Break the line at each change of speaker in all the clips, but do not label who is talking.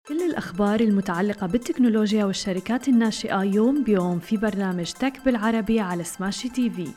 كل الأخبار المتعلقة بالتكنولوجيا والشركات الناشئة يوم بيوم في برنامج تك بالعربي على سماشي تي في.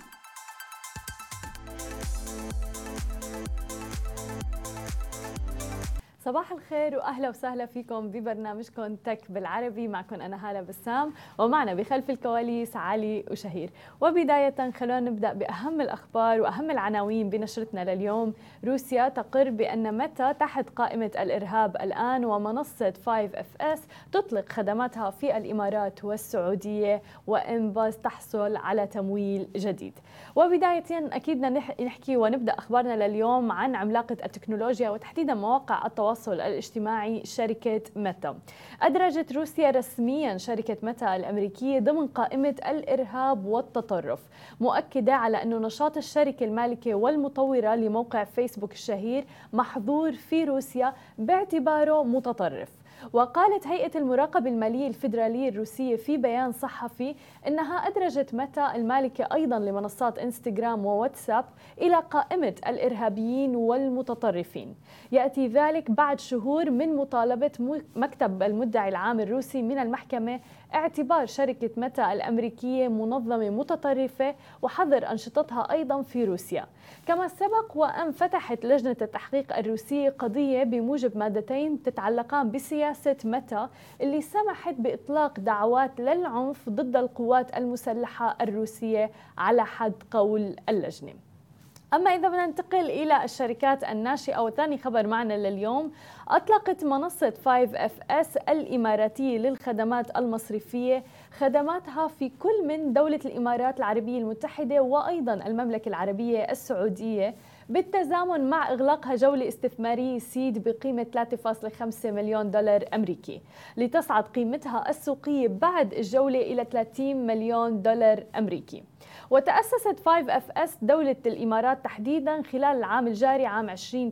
صباح الخير وأهلا وسهلا فيكم ببرنامجكم تك بالعربي. معكم أنا هالة بسام، ومعنا بخلف الكواليس علي وشهير. وبداية خلونا نبدأ بأهم الأخبار وأهم العناوين بنشرتنا لليوم. روسيا تقر بأن ميتا تحت قائمة الإرهاب الآن، ومنصة 5FS تطلق خدماتها في الإمارات والسعودية، وإنباز تحصل على تمويل جديد. وبداية أكيد نحكي ونبدأ أخبارنا لليوم عن عملاقة التكنولوجيا وتحديدا مواقع التواصل الاجتماعي شركة ميتا. أدرجت روسيا رسميا شركة ميتا الأمريكية ضمن قائمة الإرهاب والتطرف، مؤكدة على أن نشاط الشركة المالكة والمطورة لموقع فيسبوك الشهير محظور في روسيا باعتباره متطرف. وقالت هيئة المراقبة المالية الفيدرالية الروسية في بيان صحفي أنها أدرجت ميتا المالكة أيضا لمنصات إنستغرام وواتساب إلى قائمة الإرهابيين والمتطرفين. يأتي ذلك بعد شهور من مطالبة مكتب المدعي العام الروسي من المحكمة اعتبار شركة ميتا الأمريكية منظمة متطرفة وحظر أنشطتها أيضا في روسيا. كما سبق وأن فتحت لجنة التحقيق الروسية قضية بموجب مادتين تتعلقان بسياسة ميتا اللي سمحت بإطلاق دعوات للعنف ضد القوات المسلحة الروسية على حد قول اللجنة. أما إذا بدنا ننتقل إلى الشركات الناشئة، وثاني خبر معنا لليوم، أطلقت منصة 5FS الإماراتية للخدمات المصرفية خدماتها في كل من دولة الإمارات العربية المتحدة وأيضا المملكة العربية السعودية، بالتزامن مع إغلاقها جولة استثمارية سيد بقيمة 3.5 مليون دولار أمريكي، لتصعد قيمتها السوقية بعد الجولة إلى 30 مليون دولار أمريكي. وتأسست 5FS دولة الإمارات تحديدا خلال العام الجاري عام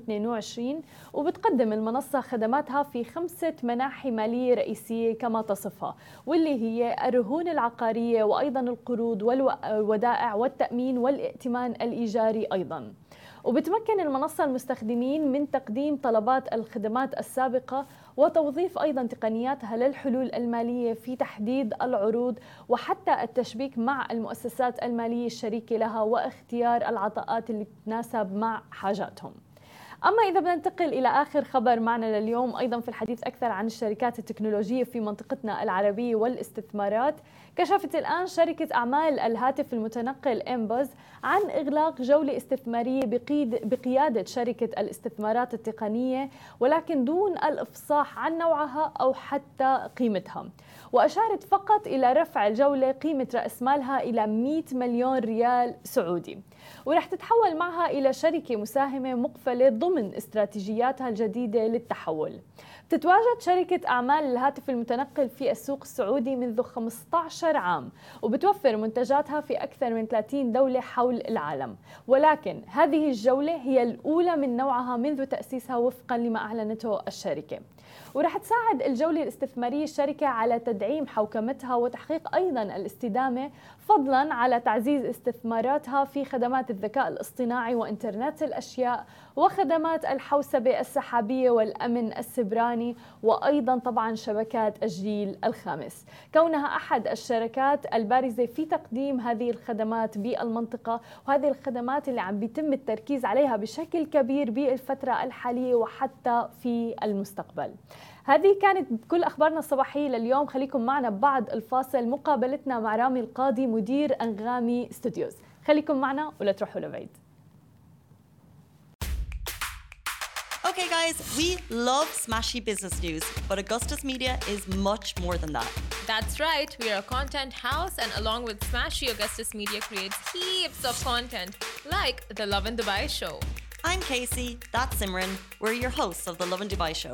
2022، وبتقدم المنصة خدماتها في 5 مناحي مالية رئيسية كما تصفها، واللي هي الرهون العقارية وأيضا القروض والودائع والتأمين والائتمان الإيجاري أيضا. وبتمكن المنصة المستخدمين من تقديم طلبات الخدمات السابقة وتوظيف أيضا تقنياتها للحلول المالية في تحديد العروض وحتى التشبيك مع المؤسسات المالية الشريكة لها واختيار العطاءات اللي تتناسب مع حاجاتهم. أما إذا بدنا ننتقل إلى آخر خبر معنا لليوم، أيضا في الحديث أكثر عن الشركات التكنولوجية في منطقتنا العربية والاستثمارات، كشفت الآن شركة أعمال الهاتف المتنقل إنباز عن إغلاق جولة استثمارية بقيادة شركة الاستثمارات التقنية، ولكن دون الإفصاح عن نوعها أو حتى قيمتها. وأشارت فقط إلى رفع الجولة قيمة رأس مالها إلى 100 مليون ريال سعودي، ورح تتحول معها إلى شركة مساهمة مقفلة ضمن استراتيجياتها الجديدة للتحول. تتواجد شركة أعمال الهاتف المتنقل في السوق السعودي منذ 15 عام، وبتوفر منتجاتها في أكثر من 30 دولة حول العالم، ولكن هذه الجولة هي الأولى من نوعها منذ تأسيسها وفقا لما أعلنته الشركة. ورح تساعد الجولة الاستثمارية الشركة على تدعيم حوكمتها وتحقيق أيضا الاستدامة، فضلا على تعزيز استثماراتها في خدمات الذكاء الاصطناعي وإنترنت الأشياء وخدمات الحوسبة السحابية والأمن السبراني، وأيضا طبعا شبكات الجيل الخامس، كونها أحد الشركات البارزة في تقديم هذه الخدمات بالمنطقة، وهذه الخدمات اللي عم بيتم التركيز عليها بشكل كبير بالفترة الحالية وحتى في المستقبل. هذه كانت كل أخبارنا الصباحية لليوم. خليكم معنا بعد الفاصل مقابلتنا مع رامي القاضي مدير أنغامي ستوديوز. خليكم معنا ولا تروحوا لبعيد.
Okay guys, we love smashy business news, but Augustus Media is much more than that.
That's right, we are a content house, and along with Smashy, Augustus Media creates heaps of content, like the Lovin Dubai show.
I'm Casey, that's Simran, we're your hosts of the Lovin Dubai show.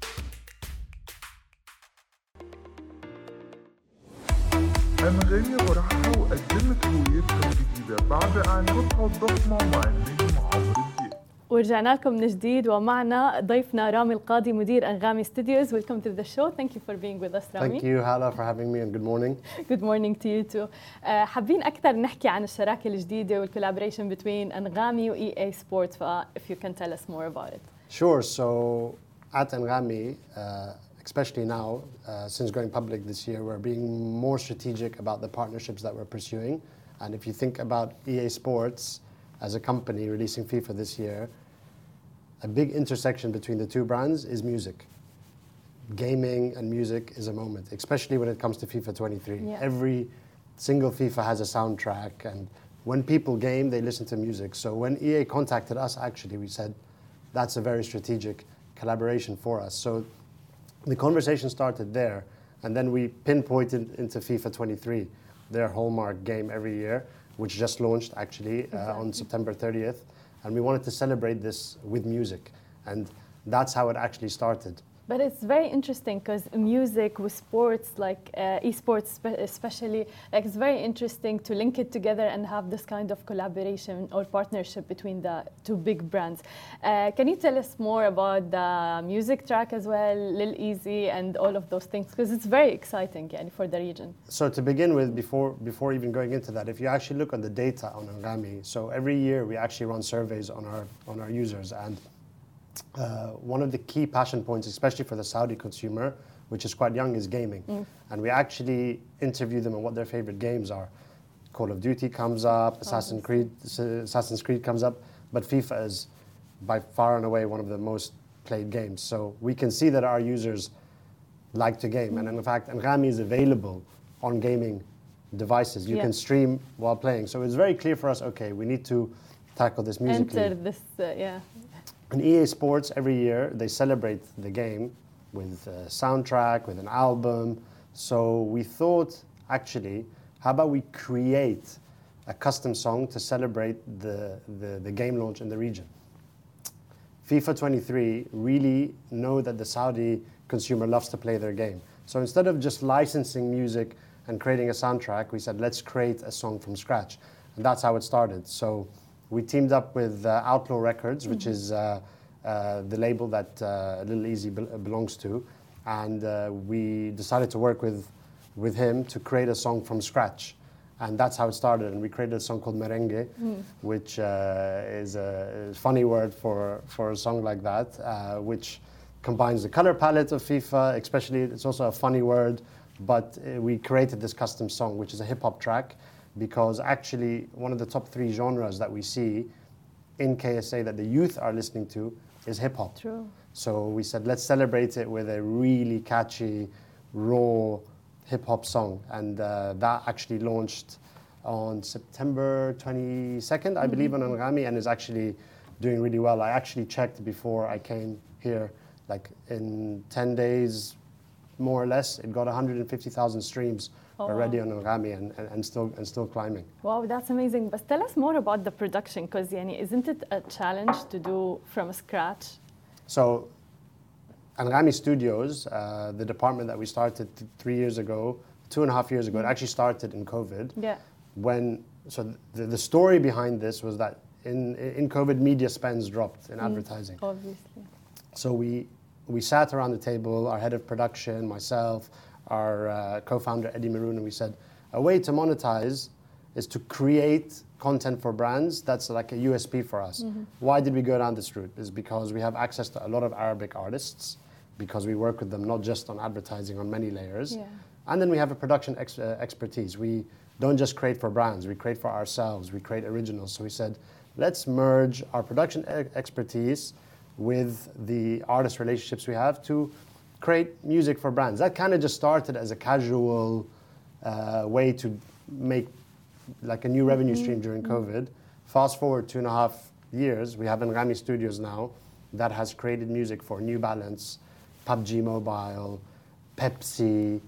أنغامي فرحها وقدمت هويتها الجديدة بعد إعلاناتها الضخمة مع النجم عمرو دياب.
ورجعنا لكم من جديد ومعنا ضيفنا رامي القاضي مدير أنغامي ستوديوز. Welcome to the show. Thank you for being with us, Rami.
Thank you, Hala, for having me, and good morning.
Good morning to you too. حابين أكثر نحكي عن الشراكة الجديدة والcollaboration between أنغامي و EA Sports. If you can tell us more about it.
Sure. So at Anghami, especially now, since going public this year, we're being more strategic about the partnerships that we're pursuing. And if you think about EA Sports as a company releasing FIFA this year, a big intersection between the two brands is music. Gaming and music is a moment, especially when it comes to FIFA 23.
Yeah.
Every single FIFA has a soundtrack, and when people game, they listen to music. So when EA contacted us, actually, we said, that's a very strategic collaboration for us. So the conversation started there, and then we pinpointed into FIFA 23, their hallmark game every year, which just launched actually on September 30th. And we wanted to celebrate this with music. And that's how it actually started.
But it's very interesting because music with sports, like esports especially, like it's very interesting to link it together and have this kind of collaboration or partnership between the two big brands. Can you tell us more about the music track as well, Lil Easy and all of those things? Because it's very exciting for the region.
So to begin with, before even going into that, if you actually look on the data on Anghami, so every year we actually run surveys on our users, and one of the key passion points, especially for the Saudi consumer, which is quite young, is gaming. And we actually interview them on what their favorite games are. Call of Duty comes up, Assassin's Creed comes up, but FIFA is by far and away one of the most played games. So we can see that our users like to game. And in fact, Anghami is available on gaming devices. You can stream while playing. So it's very clear for us, okay, we need to tackle this musically.
Enter this,
In EA Sports, every year, they celebrate the game with a soundtrack, with an album. So we thought, actually, how about we create a custom song to celebrate the game launch in the region? FIFA 23 really know that the Saudi consumer loves to play their game. So instead of just licensing music and creating a soundtrack, we said, let's create a song from scratch. And that's how it started. So we teamed up with Outlaw Records, which is the label that Lil Easy belongs to. And we decided to work with him to create a song from scratch. And that's how it started. And we created a song called Merengue, which is a funny word for a song like that, which combines the color palette of FIFA, especially, it's also a funny word, but we created this custom song, which is a hip hop track, because actually one of the top 3 genres that we see in KSA that the youth are listening to is hip hop.
True.
So we said, let's celebrate it with a really catchy, raw hip hop song. And that actually launched on September 22nd, I believe, on Anghami, and is actually doing really well. I actually checked before I came here, like in 10 days, more or less, it got 150,000 streams already on Anghami and still climbing.
Wow, that's amazing. But tell us more about the production, because isn't it a challenge to do from scratch? So
Anghami Studios, the department that we started 3 years ago, 2.5 years ago, it actually started in COVID.
Yeah.
So the story behind this was that in COVID, media spends dropped in advertising.
Obviously.
So we sat around the table, our head of production, myself, our co-founder Eddie Maroon, and we said, a way to monetize is to create content for brands that's like a USP for us. Why did we go down this route? Is because we have access to a lot of Arabic artists, because we work with them not just on advertising, on many layers.
Yeah.
And then we have a production expertise. We don't just create for brands, we create for ourselves, we create originals. So we said, let's merge our production expertise with the artist relationships we have to create music for brands. That kind of just started as a casual way to make like a new revenue stream during COVID. Fast forward 2.5 years, we have Anghami Studios now that has created music for New Balance, PUBG Mobile, Pepsi,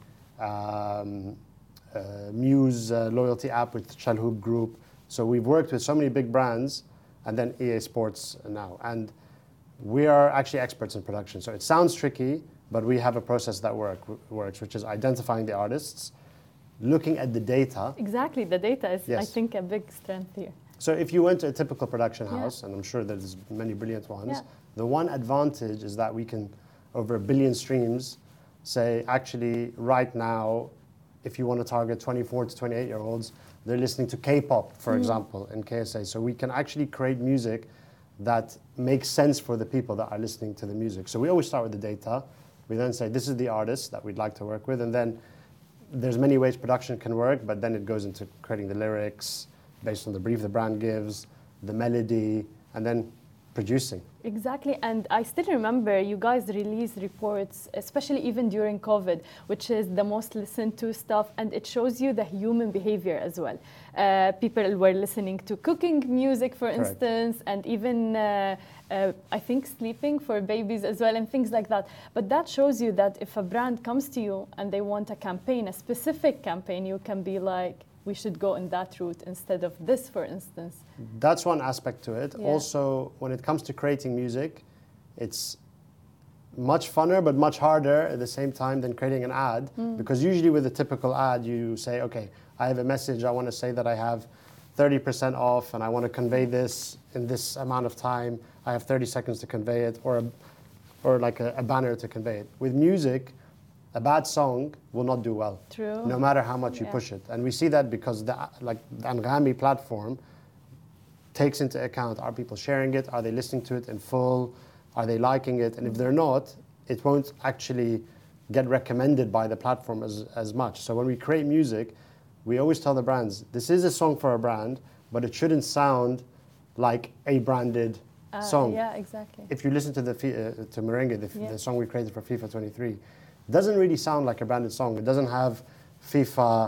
Muse loyalty app with Chalhoub Group. So we've worked with so many big brands, and then EA Sports now. And we are actually experts in production. So it sounds tricky, but we have a process that works, which is identifying the artists, looking at the data.
Exactly, the data is,
Yes.
I think, a big strength here.
So if you went to a typical production house, and I'm sure there's many brilliant ones, the one advantage is that we can, over 1 billion streams, say, actually, right now, if you want to target 24 to 28-year-olds, they're listening to K-pop, for example, in KSA. So we can actually create music that makes sense for the people that are listening to the music. So we always start with the data. We then say, this is the artist that we'd like to work with. And then there's many ways production can work, but then it goes into creating the lyrics based on the brief the brand gives, the melody, and then producing.
Exactly, and I still remember you guys released reports, especially even during COVID, which is the most listened to stuff, and it shows you the human behavior as well. People were listening to cooking music, for
Correct.
instance, and even I think sleeping for babies as well, and things like that. But that shows you that if a brand comes to you and they want a campaign, a specific campaign, you can be like, we should go in that route instead of this, for instance.
That's one aspect to it.
Yeah.
Also, when it comes to creating music, it's much funner but much harder at the same time than creating an ad. Because usually with a typical ad, you say, okay, I have a message, I want to say that I have 30% off and I want to convey this in this amount of time. I have 30 seconds to convey it, or like a banner to convey it. With music, a bad song will not do well.
True.
No matter how much you
Yeah.
push it. And we see that because the Anghami platform takes into account, are people sharing it? Are they listening to it in full? Are they liking it? And if they're not, it won't actually get recommended by the platform as much. So when we create music, we always tell the brands, this is a song for a brand, but it shouldn't sound like a branded song.
Yeah, exactly.
If you listen to to Merengue,
Yeah.
the song we created for FIFA 23, it doesn't really sound like a branded song. It doesn't have FIFA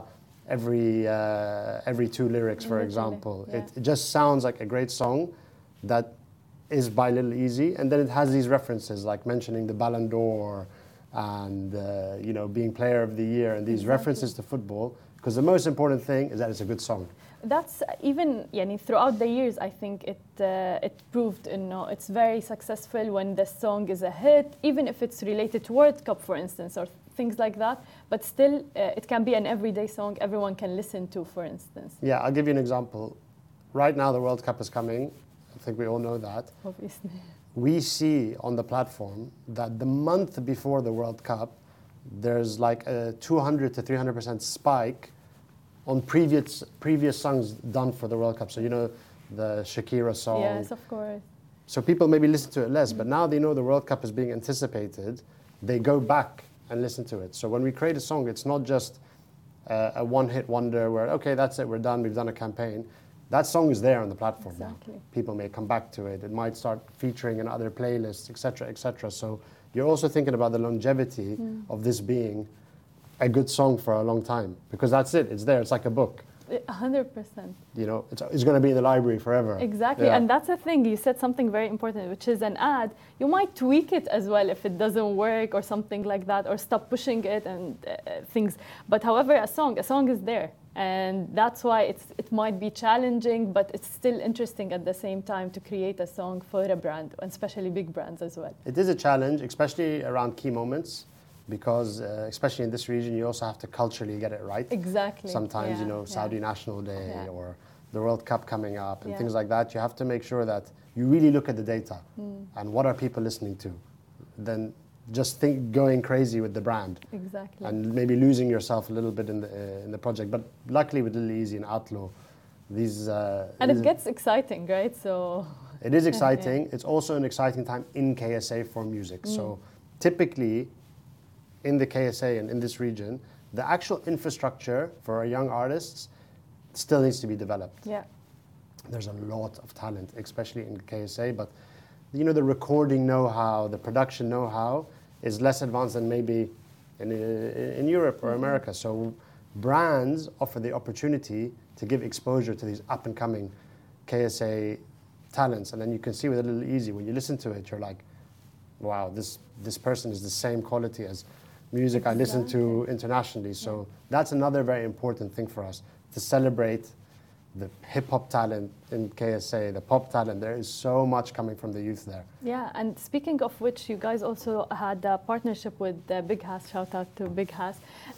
every two lyrics, for
Literally,
example.
yeah.
It just sounds like a great song that is by Lil Easy, and then it has these references like mentioning the Ballon d'Or and being Player of the Year and these
Exactly.
references to football. Because the most important thing is that it's a good song.
That's even throughout the years. I think it proved, it's very successful when the song is a hit, even if it's related to World Cup, for instance, or things like that. But still, it can be an everyday song everyone can listen to, for instance.
Yeah, I'll give you an example. Right now, the World Cup is coming. I think we all know that.
Obviously.
We see on the platform that the month before the World Cup, there's like a 200 to 300% spike on previous songs done for the World Cup. So the Shakira song.
Yes, of course.
So people maybe listen to it less, but now they know the World Cup is being anticipated. They go back and listen to it. So when we create a song, it's not just a one-hit wonder where, okay, that's it, we're done, we've done a campaign. That song is there on the platform
Exactly.
now. People may come back to it. It might start featuring in other playlists, etc., etc. So you're also thinking about the longevity of this being a good song for a long time, because that's it. It's there. It's like a book.
100%.
It's going to be in the library forever.
Exactly,
Yeah.
and that's the thing. You said something very important, which is an ad. You might tweak it as well if it doesn't work or something like that, or stop pushing it and things. But however, a song is there, and that's why it might be challenging, but it's still interesting at the same time to create a song for a brand, and especially big brands as well.
It is a challenge, especially around key moments, because especially in this region, you also have to culturally get it right.
Exactly.
Sometimes,
Yeah,
Saudi
yeah.
National Day
Yeah.
or the World Cup coming up and
Yeah.
things like that. You have to make sure that you really look at the data and what are people listening to. Then just think going crazy with the brand
Exactly.
and maybe losing yourself a little bit in the project. But luckily with Lil Easy and Outlaw, these...
and it gets exciting, right? So
It is exciting. It's also an exciting time in KSA for music. So typically, in the KSA and in this region, the actual infrastructure for our young artists still needs to be developed.
yeah,
There's a lot of talent, especially in KSA, but the recording know-how, the production know-how is less advanced than maybe in Europe or America. So brands offer the opportunity to give exposure to these up-and-coming KSA talents. And then you can see with a Lil Easy, when you listen to it, you're like, wow, this person is the same quality as music I listen to internationally. So that's another very important thing for us, to celebrate the hip-hop talent in KSA, the pop talent. There is so much coming from the youth there.
yeah. And speaking of which, you guys also had a partnership with Big Hass. Shout out to Big Hass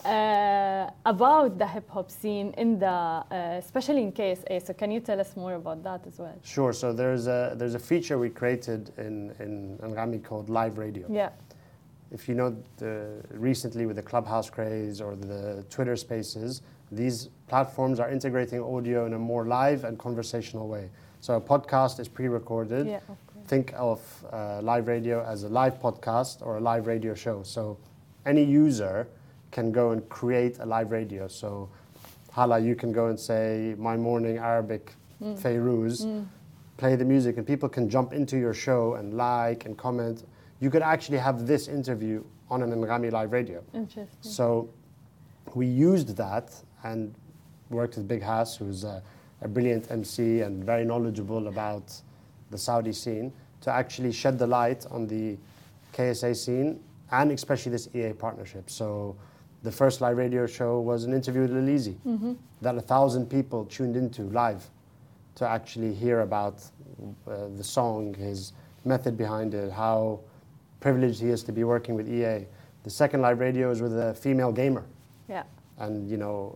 about the hip hop scene in especially in KSA. So can you tell us more about that as well?
Sure. So there's a feature we created in Anghami called Live Radio.
Yeah,
If you know, recently with the Clubhouse craze or the Twitter Spaces, these platforms are integrating audio in a more live and conversational way. So a podcast is pre-recorded.
yeah, of course.
think of live radio as a live podcast or a live radio show. So any user can go and create a live radio. So Hala, you can go and say, my morning Arabic Fayrouz, play the music, and people can jump into your show and like and comment. You could actually have this interview on an Anghami live radio.
Interesting.
So we used that and worked with Big Hass, who's a brilliant MC and very knowledgeable about the Saudi scene, to actually shed the light on the KSA scene and especially this EA partnership. So the first live radio show was an interview with Lil Easy that 1,000 people tuned into live to actually hear about the song, his method behind it, how privileged he is to be working with EA. The second live radio is with a female gamer.
Yeah.
And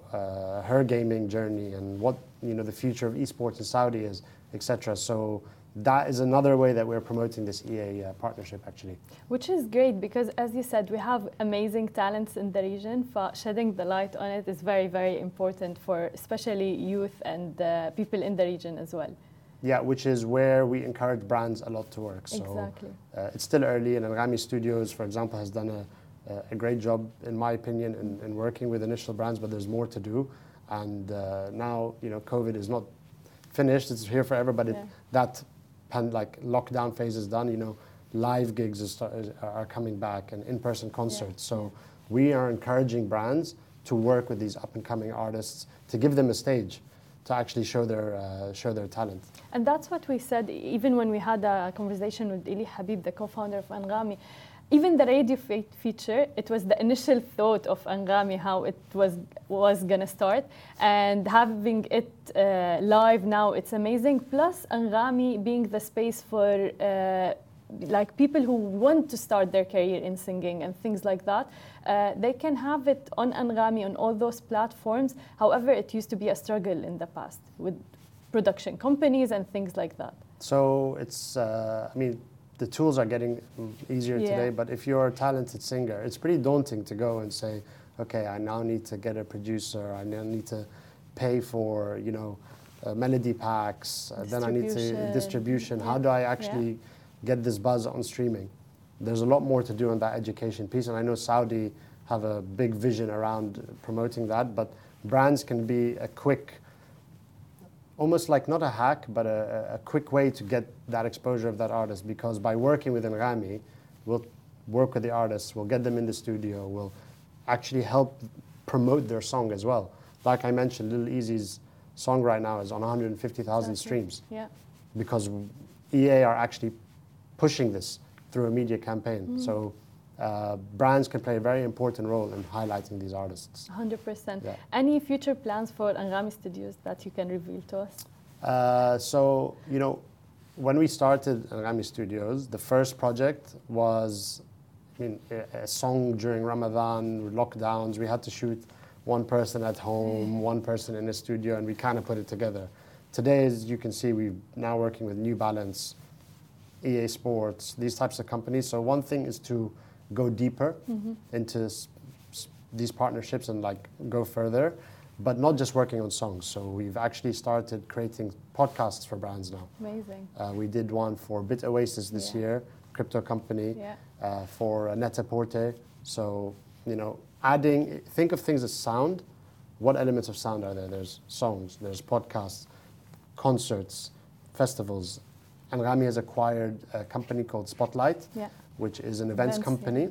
her gaming journey and what the future of esports in Saudi is, etc. So that is another way that we're promoting this EA partnership, actually.
Which is great because, as you said, we have amazing talents in the region. Shedding the light on it is very, very important for especially youth and people in the region as well.
Yeah, which is where we encourage brands a lot to work. So,
exactly.
It's still early, and Anghami Studios, for example, has done a great job, in my opinion, in working with initial brands, but there's more to do. And now, COVID is not finished; it's here forever. But that lockdown phase is done. Live gigs are coming back and in-person concerts. So we are encouraging brands to work with these up-and-coming artists to give them a stage to actually show their talent.
And that's what we said even when we had a conversation with Eli Habib, the co-founder of Anghami. Even the radio feature, it was the initial thought of Anghami, how it was gonna start, and having it live now, it's amazing. Plus, Anghami being the space for people who want to start their career in singing and things like that, they can have it on Anghami on all those platforms. However, it used to be a struggle in the past with production companies and things like that.
So it's, the tools are getting easier today, but if you're a talented singer, it's pretty daunting to go and say, okay, I now need to get a producer, I now need to pay for, melody packs, then I need to distribution. How do I actually get this buzz on streaming? There's a lot more to do on that education piece, and I know Saudi have a big vision around promoting that, but brands can be a quick, almost like not a hack, but a quick way to get that exposure of that artist, because by working with Anghami, we'll work with the artists, we'll get them in the studio, we'll actually help promote their song as well. Like I mentioned, Lil Easy's song right now is on 150,000 streams. Yeah. Because EA are actually pushing this through a media campaign. So brands can play a very important role in highlighting these artists.
100%. Yeah. Any future plans for Anghami Studios that you can reveal to us?
When we started Anghami Studios, the first project was a song during Ramadan, lockdowns. We had to shoot one person at home, one person in the studio, and we kind of put it together. Today, as you can see, we're now working with New Balance, EA Sports, these types of companies. So one thing is to go deeper into these partnerships and go further, but not just working on songs. So we've actually started creating podcasts for brands now.
Amazing.
We did one for Bit Oasis this year, crypto company, for Net-a-Porter. So, think of things as sound. What elements of sound are there? There's songs, there's podcasts, concerts, festivals. Anghami has acquired a company called Spotlight, which is an events company.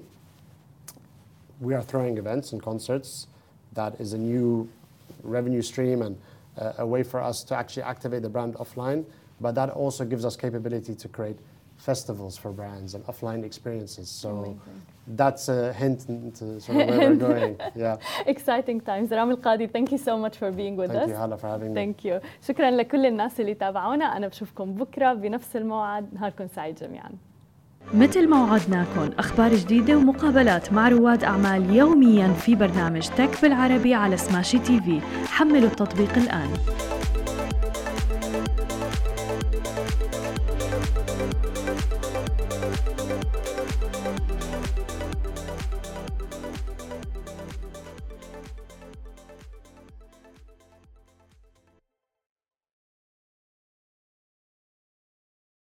We are throwing events and concerts. That is a new revenue stream and a way for us to actually activate the brand offline. But that also gives us capability to create festivals for brands and offline experiences. So that's a hint into sort of where we're going. Yeah.
Exciting times. Rami Al-Qadi, thank you so much for being with us.
Thank you, Hala, for having me.
Thank you. شكرا لكل الناس اللي تابعونا. أنا بشوفكم بكرة بنفس الموعد. نهاركم سعيد جميعا. مثل ما وعدناكم أخبار جديدة ومقابلات مع رواد أعمال يومياً في برنامج تك بالعربي على سماشي تي في. حملوا التطبيق الآن.